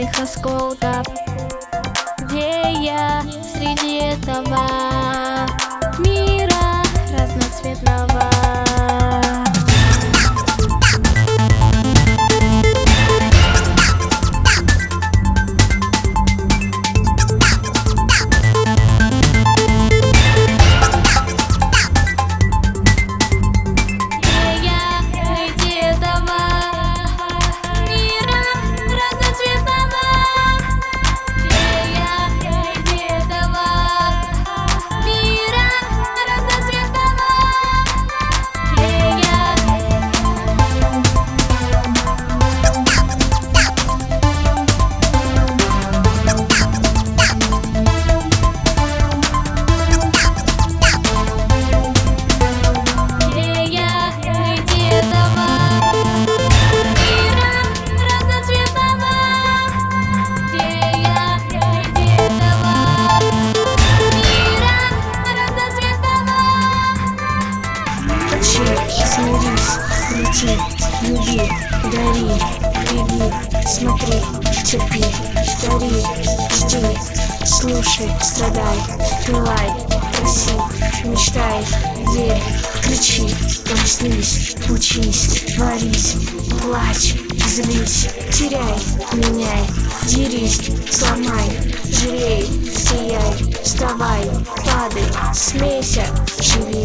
твоих осколков, вея среди этого мира разноцветного. Смирись, лети, люби, дари, беги, смотри, терпи, дари, жди, слушай, страдай, пылай, проси, мечтай, верь, кричи, проснись, учись, творись, плачь, злись, теряй, меняй, дерись, сломай, жалей, сияй, вставай, падай, смейся, живи.